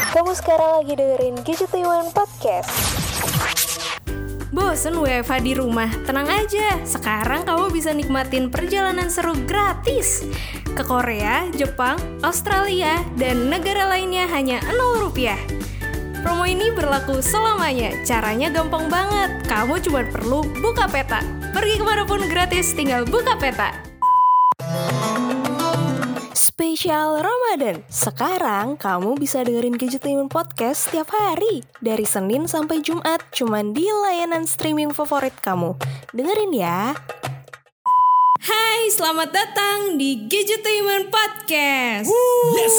Kamu sekarang lagi dengerin Gadgetainment Podcast. Bosen WFH di rumah? Tenang aja, sekarang kamu bisa nikmatin perjalanan seru gratis ke Korea, Jepang, Australia, dan negara lainnya hanya Rp0. Promo ini berlaku selamanya, caranya gampang banget. Kamu cuma perlu buka peta. Pergi kemanapun gratis, tinggal buka peta. Spesial Ramadan. Sekarang kamu bisa dengerin Gadgetainment Podcast setiap hari dari Senin sampai Jumat cuman di layanan streaming favorit kamu. Dengerin ya. Hai, selamat datang di Gadgetainment Podcast. Yes.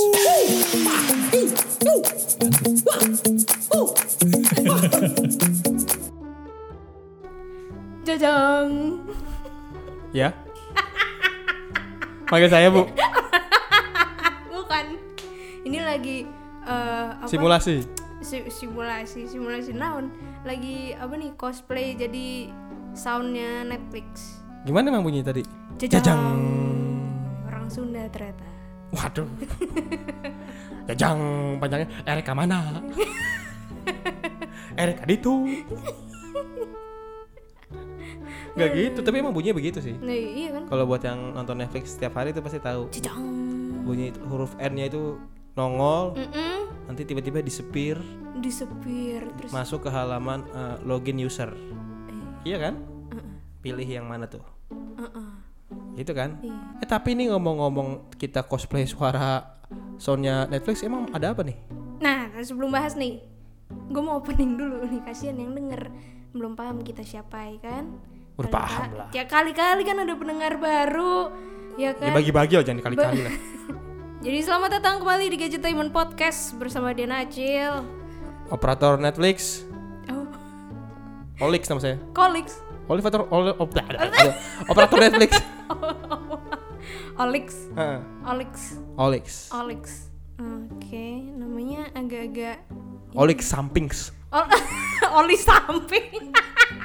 Jajang. Ya. Panggil saya, Bu. Bukan. Ini lagi apa? Simulasi. Simulasi naon? Lagi apa nih? Cosplay jadi soundnya Netflix. Gimana emang bunyi tadi? Jajang. Orang Sunda ternyata. Waduh. Jajang panjangnya Erika mana? Erika ditu. Gak gitu, tapi emang bunyinya begitu sih. Nah, iya kan? Kalau buat yang nonton Netflix setiap hari itu pasti tahu. Jajang. Bunyi huruf N-nya itu nongol, nanti tiba-tiba disepir terus masuk ke halaman login user. Iya kan? Pilih yang mana tuh? Itu kan? Iya. Tapi ini ngomong-ngomong kita cosplay suara soundnya Netflix, emang ada apa nih? Nah, sebelum bahas nih, gue mau opening dulu nih, kasihan yang denger belum paham kita siapa ya kan? Udah paham lah. Ya kali-kali kan ada pendengar baru, ya kan? Ya bagi-bagi lah, jangan dikali-kali lah. Jadi selamat datang kembali di Gadgetainment Podcast bersama Diana Acil. Operator Netflix. Oh, Olix nama saya. Kolix. Operator Netflix. Olix. Heeh. Olix. Olix. Oke, namanya agak-agak Olix Sampings. Oli samping.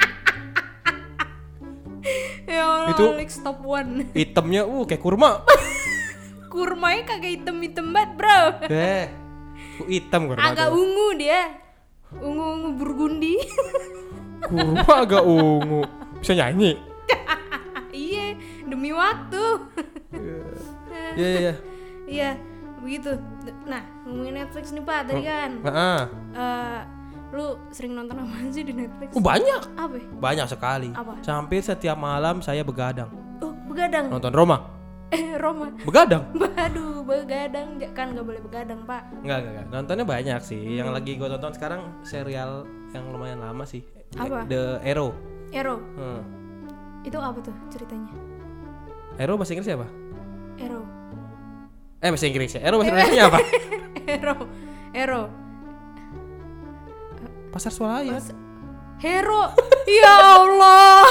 Ya Allah, Itu Olix top 1. Hitamnya kayak kurma. Kurmanya kagak hitam-hitam banget, bro. Hitam kurma. Agak tuh. ungu dia. Ungu Burgundi. Kurma agak ungu. Bisa nyanyi. Iya, demi waktu. Iya. Iya, begitu. Nah, ngomongin Netflix nih Pak tadi kan. Heeh. Lu sering nonton apa sih di Netflix? Banyak. Apa? Banyak sekali. Apa? Hampir setiap malam saya begadang. Oh, begadang. Nonton Roma. Roma. Begadang. Aduh, begadang. Kan gak boleh begadang, Pak. Enggak. Nontonnya banyak sih. Yang lagi gue tonton sekarang serial yang lumayan lama sih. Apa? The Arrow. Arrow. Itu apa tuh ceritanya? Arrow bahasa Inggrisnya apa? Arrow. Bahasa Inggrisnya. Arrow bahasa Indonesia apa? Arrow. Pasar swalayan. Hero. Ya Allah.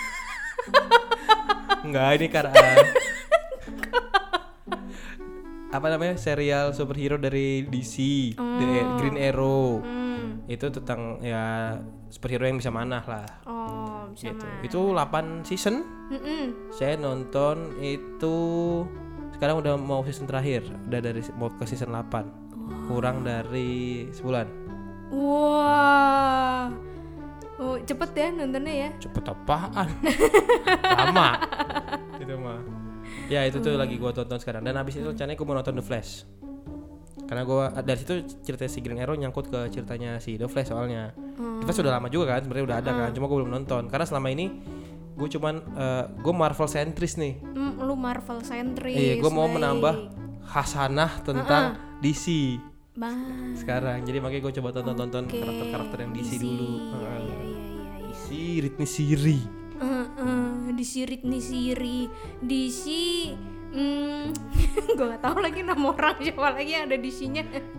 Enggak, ini karena apa namanya? Serial superhero dari DC, The Green Arrow. Itu tentang ya superhero yang bisa manah lah. Oh, bisa Gitu. mah. Itu 8 season. Saya nonton itu sekarang udah mau season terakhir. Udah mau ke season 8. Kurang dari sebulan. Wah. Oh, cepet ya nontonnya ya. Cepet apaan? Lama. Itu mah. Ya itu tuh lagi gue tonton sekarang. Dan abis itu rencananya gue mau nonton The Flash. Karena gue dari situ cerita si Green Arrow nyangkut ke ceritanya si The Flash soalnya. The Flash udah lama juga kan, sebenarnya udah ada kan. Cuma gue belum nonton. Karena selama ini gue cuman gue Marvel sentris nih. Lu Marvel sentris. Iya, gue mau menambah khasanah tentang DC. Sekarang. Jadi makanya gue coba tonton karakter-karakter yang DC dulu. Iya. DC Siri. DC gue gak tahu lagi nama orang siapa lagi yang ada DC-nya.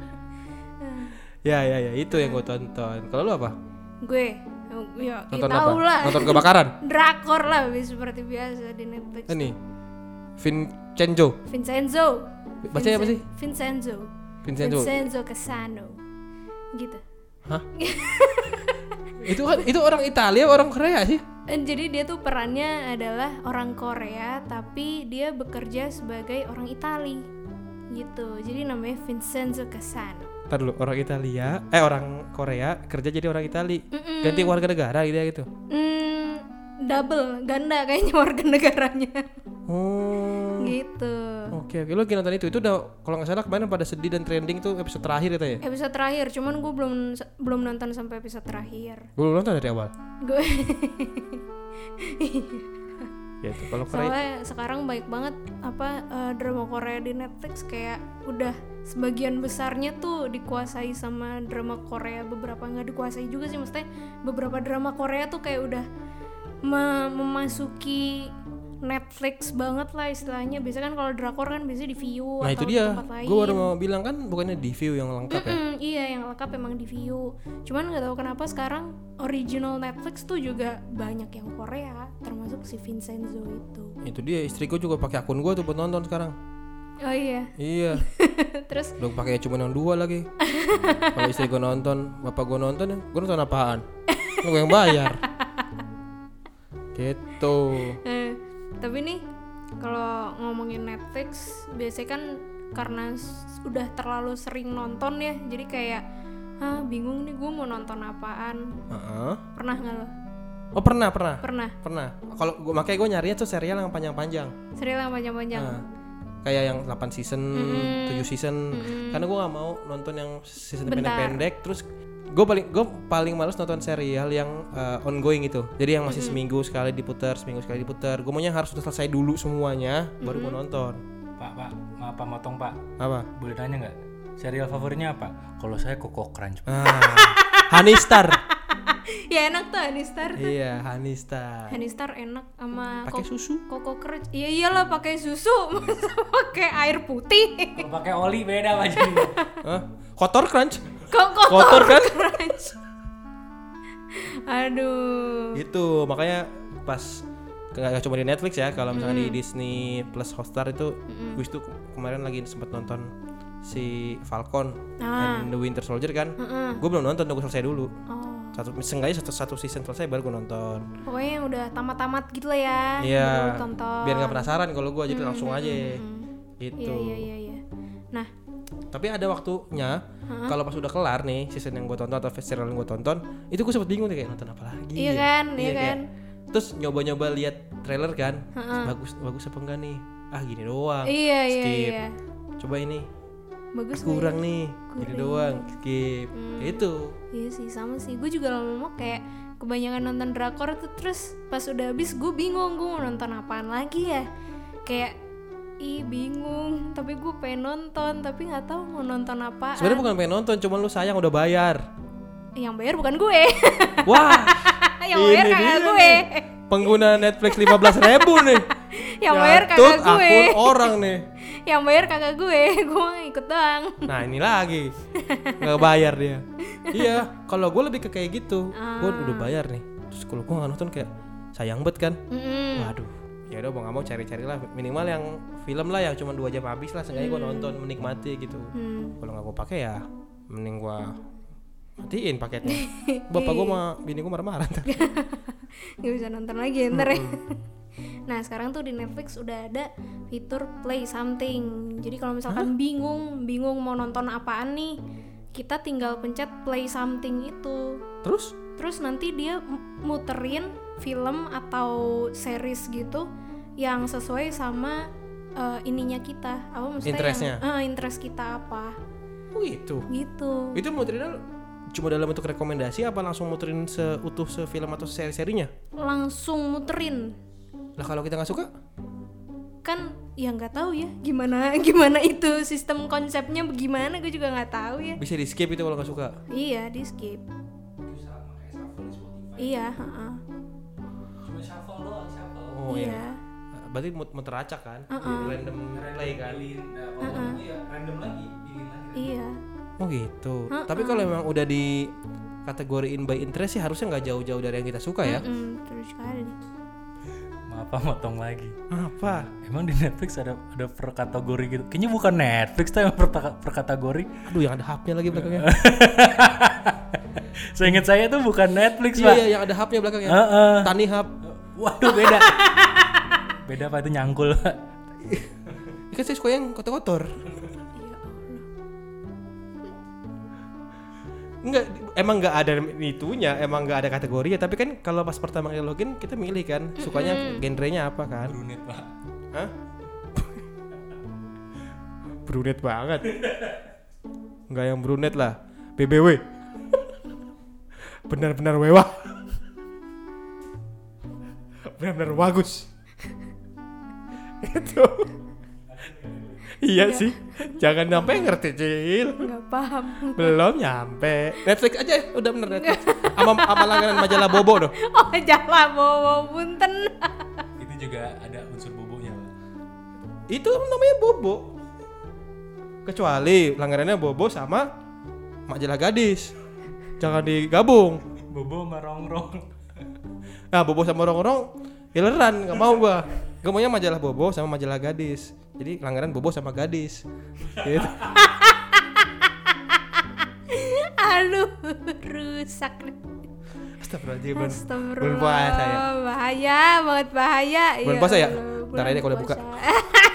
Ya itu yang gue tonton. Kalau lu apa? Gue ya Nonton tahu apa? lah. Nonton kebakaran. Drakor lah seperti biasa di Netflix. Ini Vincenzo. Bacanya apa sih? Vincenzo Casano. Gitu. Hah? Itu orang Italia, orang Korea sih? Jadi dia tuh perannya adalah orang Korea tapi dia bekerja sebagai orang Itali gitu. Jadi namanya Vincenzo Casano. Ntar dulu, orang Korea kerja jadi orang Itali. Ganti warga negara gitu. Double, ganda kayaknya warga negaranya. Oh. Gitu. Oke, lo lagi nonton itu udah kalau nggak salah kemarin pada sedih dan trending tuh episode terakhir itu ya? Episode terakhir, cuman gue belum nonton sampai episode terakhir. Belum nonton dari awal. Gue Gitu. Kalau Korea soalnya sekarang baik banget drama Korea di Netflix, kayak udah sebagian besarnya tuh dikuasai sama drama Korea, beberapa nggak dikuasai juga sih, maksudnya beberapa drama Korea tuh kayak udah memasuki Netflix banget lah istilahnya. Biasanya kan kalau drakor kan biasanya di Viu nah atau itu dia, tempat lain. gue baru mau bilang kan bukannya di View yang lengkap ya? Iya, yang lengkap emang di Viu. Cuman nggak tahu kenapa sekarang original Netflix tuh juga banyak yang Korea, termasuk si Vincenzo itu. Itu dia, istri gue juga pakai akun gue tuh buat nonton sekarang. Oh iya. Iya. Terus udah pakai cuma yang 2 lagi. Kalau istri gue nonton, bapak gue nonton ya, gue nonton apaan? Gue yang bayar. Gitu. Tapi nih kalau ngomongin Netflix biasanya kan karena udah terlalu sering nonton ya, jadi kayak bingung nih gue mau nonton apaan. Pernah nggak lo? Oh pernah. Kalau gue makanya gue nyarinya tuh serial yang panjang-panjang. Serial yang panjang-panjang. Kayak yang 8 season, 7 season. Karena gue nggak mau nonton yang season pendek-pendek. Terus gue paling males nonton serial yang ongoing itu. Jadi yang masih seminggu sekali diputar. Gue maunya harus udah selesai dulu semuanya, baru gue nonton. Pak, maaf motong Pak. Apa? Boleh nanya nggak? Serial favoritnya apa? Kalau saya Koko Crunch. Honey Star. Ya enak tuh Honey Star tuh. Iya, Honey Star. Honey Star enak sama pakai susu. Koko Crunch. Iya iyalah pakai susu, masa pakai air putih. Kalau pakai oli beda Pak jadi. Kotor Crunch. Kotor kan? Crunch. Aduh. Itu makanya pas nggak cuma di Netflix ya, kalau misalnya di Disney Plus Hotstar itu, gue itu kemarin lagi sempet nonton si Falcon and the Winter Soldier kan. Gue belum nonton, gue selesai dulu. Seenggaknya satu season selesai baru gue nonton. Pokoknya yang udah tamat gitu lah ya. Iya. Tonton. Biar nggak penasaran kalau gue, jadi langsung aja. Gitu. Iya. Nah, tapi ada waktunya kalau pas udah kelar nih season yang gue tonton atau serial yang gue tonton, itu gue sempet bingung nih kayak nonton apa lagi. Iya kan. Terus nyoba lihat trailer kan, bagus apa enggak nih? Gini doang. Iya. Skip. Coba ini. Bagus kurang nih. Gini doang. Skip. Itu. Iya sih, sama sih. Gue juga lama-lama kayak kebanyakan nonton drakor tuh, terus pas udah habis gue bingung gue mau nonton apaan lagi ya. Kayak bingung, tapi gue pengen nonton tapi nggak tahu mau nonton apaan. Sebenarnya bukan pengen nonton, cuman lu sayang udah bayar. Yang bayar bukan gue. Wah. Yang bayar kakak gue. Pengguna Netflix 15.000 nih. Yang bayar kakak gue. Akun orang nih. Yang bayar kakak gue ikut doang. Nah ini lagi nggak bayar dia. Iya, kalau gue lebih ke kayak gitu. Gue udah bayar nih, terus kalau gue nggak nonton kayak sayang banget kan. Waduh. Ya udah, mau nggak mau cari-cari lah, minimal yang film lah yang cuma 2 jam habis lah, seenggaknya gue nonton menikmati gitu. Kalau nggak gue pakai ya mending gue matiin paketnya. Bapak gue sama bini gue marah-marah ntar. Gak bisa nonton lagi ntar ya. Nah sekarang tuh di Netflix udah ada fitur play something. Jadi kalau misalkan bingung mau nonton apaan nih, kita tinggal pencet play something itu. Terus nanti dia muterin film atau series gitu yang sesuai sama ininya kita. Apa maksudnya? Interestnya? Interest kita apa? Oh gitu. Itu muterinnya cuma dalam bentuk rekomendasi apa langsung muterin seutuh sefilm atau seri-serinya? Langsung muterin. Lah kalau kita nggak suka? Kan ya nggak tahu ya gimana itu sistem konsepnya bagaimana, gue juga nggak tahu ya. Bisa di skip itu kalau nggak suka? Iya, di skip. Iya. Cuma shuffle doang, shuffle. Oh iya. Berarti muter acak kan? Random play kan? Iya, random lagi, pilih lagi. Iya. Oh gitu. Tapi kalau memang udah di kategoriin by interest sih harusnya nggak jauh-jauh dari yang kita suka ya? Terus sekali. Maaf motong lagi. Apa? Emang di Netflix ada per kategori gitu? Kayaknya bukan Netflix tuh yang per kategori. Aduh, yang ada hubnya lagi belakangnya. Seingat saya tuh bukan Netflix Pak. Iya, yang ada hubnya belakangnya. Tani hub. Waduh beda. Beda Pak, itu nyangkul Pak. Ini kan saya suka yang kotor-kotor. Enggak, emang nggak ada itunya, emang nggak ada kategorinya. Tapi kan kalau pas pertama kali login kita milih kan, sukanya genrenya apa kan? Brunet pak. Hah? Brunet banget. Nggak yang brunet lah, BBW. Benar-benar wewah. Benar-benar bagus. Itu. Iya sih, jangan sampai ngerti Cil. Nggak paham. Belum nyampe. Netflix aja udah bener Netflix. Sama langganan majalah Bobo doh. Oh, majalah Bobo, punten. Itu juga ada unsur bobonya pak. Itu namanya Bobo. Kecuali langganannya Bobo sama majalah gadis. Jangan digabung. Bobo sama rongrong. Nah, Bobo sama Rongrong hileran, nggak mau gua. Gua maunya majalah Bobo sama majalah gadis. Jadi langganan Bobo sama gadis. Gitu. Aduh, rusak. Astagfirullahaladzim. Astagfirullah. Bulan puasa ya. Bahaya, banget bahaya. Bulan Ya puasa ya? Allah, Ntar aja bulan kalau buka. puasa.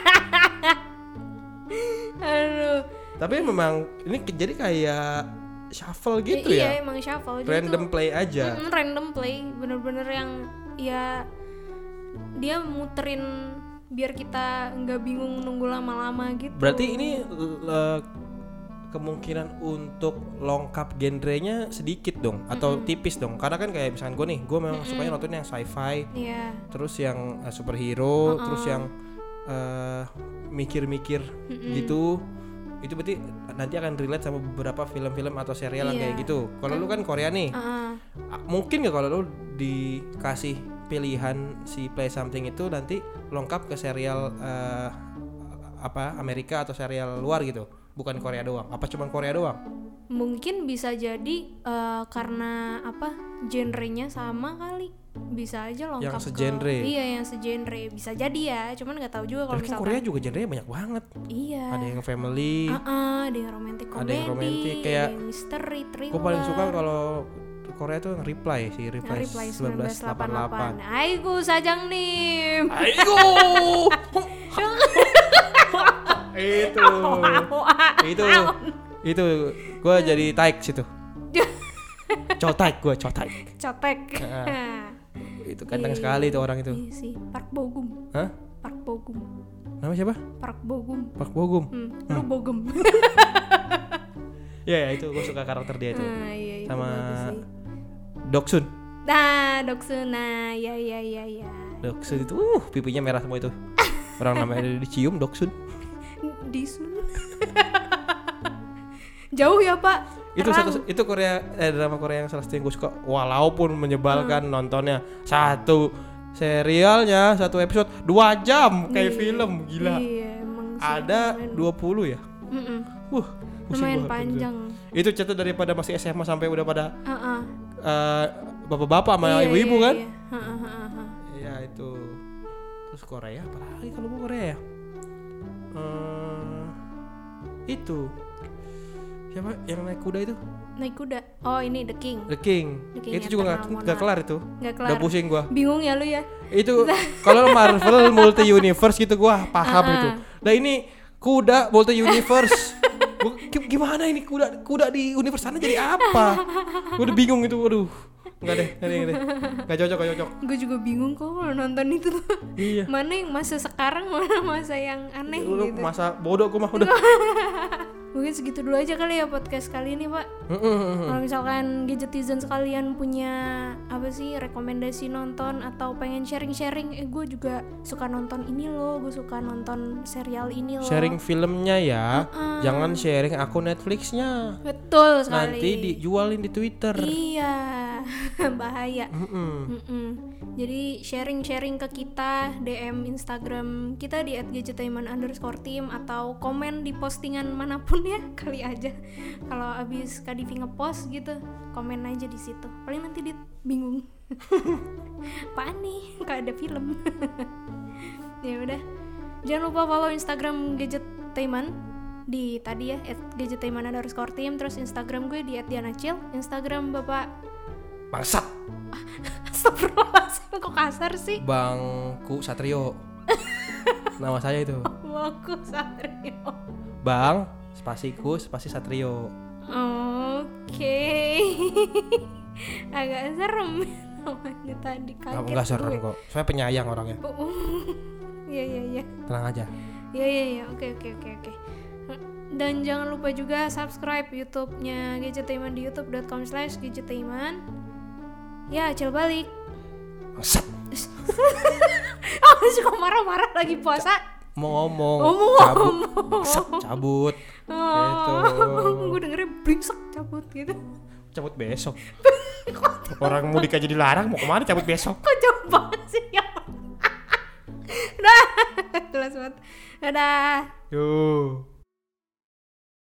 Aduh. Tapi memang ini jadi kayak shuffle gitu Iya, ya. emang shuffle. Jadi Random tuh, play aja. random play, bener-bener yang ya dia muterin biar kita nggak bingung nunggu lama-lama gitu. Berarti ini kemungkinan untuk lengkap genrenya sedikit dong atau tipis dong. Karena kan kayak misalkan gue memang sukanya nonton yang sci-fi, Iya. terus yang superhero, terus yang mikir-mikir gitu. Itu berarti nanti akan relate sama beberapa film-film atau serial yang Iya. kayak gitu. Kalau lu kan Korea nih, mungkin nggak kalau lu dikasih pilihan si Play Something itu nanti lengkap ke serial apa Amerika atau serial luar gitu, bukan Korea doang? Apa cuma Korea doang? Mungkin bisa jadi karena apa genrenya sama kali, bisa aja lengkap Yang segenre. Iya, yang segenre bisa jadi ya, cuman nggak tahu juga kalau Tapi kan misalkan. Korea juga genrenya banyak banget. Iya. Ada yang family, Ada yang romantic ada comedy, yang romantic, kayak ada yang misteri, thriller. gue paling suka kalau Korea tuh yang Reply sih, Yang Reply, Reply 1988. 1988. Aigu sajang nim. Aigo. itu gue jadi taik situ. Cotaik gue, cotaik. Cotek. Itu ganteng sekali tuh orang itu. Iya sih, Park Bogum. Hah? Park Bogum. Nama siapa? Park Bogum. Park Bogum. Lu Bogum. Ya itu gue suka karakter dia itu. Iya, itu Sama bagus sih. Doksun. Nah, Doksuna, ya. Doksun itu pipinya merah semua itu. Orang namanya dicium Doksun. Disun. Jauh ya, Pak. Itu Korea drama Korea yang salah satu yang gue suka walaupun menyebalkan nontonnya. Satu serialnya satu episode 2 jam kayak film, gila. Iya, emang sih, Ada lumayan. 20 ya. Pusing Lumayan gua. panjang. Itu cerita daripada masih SMA sampai udah pada Heeh. bapak-bapak sama Iya, ibu-ibu iya, kan. iya. Heeh. Iya itu. Terus Korea apa lagi kalau gue Korea ya? Itu siapa yang naik kuda itu? Naik kuda. Oh, ini The King. The King. The King Itu juga Eternal nggak kelar itu. Nggak kelar. Udah pusing gua. Bingung ya lu ya? Itu kalau Marvel multi universe gitu gua paham itu. Nah ini kuda multi universe. Gimana ini kuda di universe sana jadi apa? Gua udah bingung itu. Waduh. Enggak deh. Enggak cocok. Gue juga bingung kok kalau nonton itu tuh. Iya. Mana yang masa sekarang, mana masa yang aneh Lu gitu. masa bodoh gua mah udah. Mungkin segitu dulu aja kali ya podcast kali ini, Pak. Kalau misalkan Gadgetizen sekalian punya apa sih rekomendasi nonton atau pengen sharing-sharing, gue juga suka nonton ini loh, gue suka nonton serial ini loh. Sharing filmnya ya. Jangan sharing akun Netflixnya. Betul sekali. Nanti dijualin di Twitter. Iya, bahaya. Jadi sharing-sharing ke kita, DM Instagram kita di @gadgetainment_team atau komen di postingan manapun ya, kali aja. Kalau abis Kadivi ngepost gitu, komen aja di situ. Paling nanti dia bingung. Apaan nih? Gak ada film. Ya udah. Jangan lupa follow Instagram Gadgetainment di tadi ya @gadgetainment_team, terus Instagram gue di @dianacil, Instagram Bapak Bangsat. Astagfirullahaladzim, kok kasar sih? Bangku Satrio. Nama saya itu. Bangku Satrio. Bang spasi Satrio. Oke. Oke. Agak serem namanya tadi, kaget. Enggak serem gue. kok. Saya penyayang orangnya. Iya. Tenang aja. Iya. Oke. Dan jangan lupa juga subscribe YouTube-nya Gadgetainment di youtube.com/gadgetainment. Ya, acil balik. Set. Suka marah-marah lagi puasa. Mau ngomong. Cabut. Gitu. Gue dengernya bringsek cabut gitu. Cabut besok. Orang mudik aja dilarang, mau kemana cabut besok? Kok jauh banget sih ya? Dah, jelas banget. Dadah. Yuh.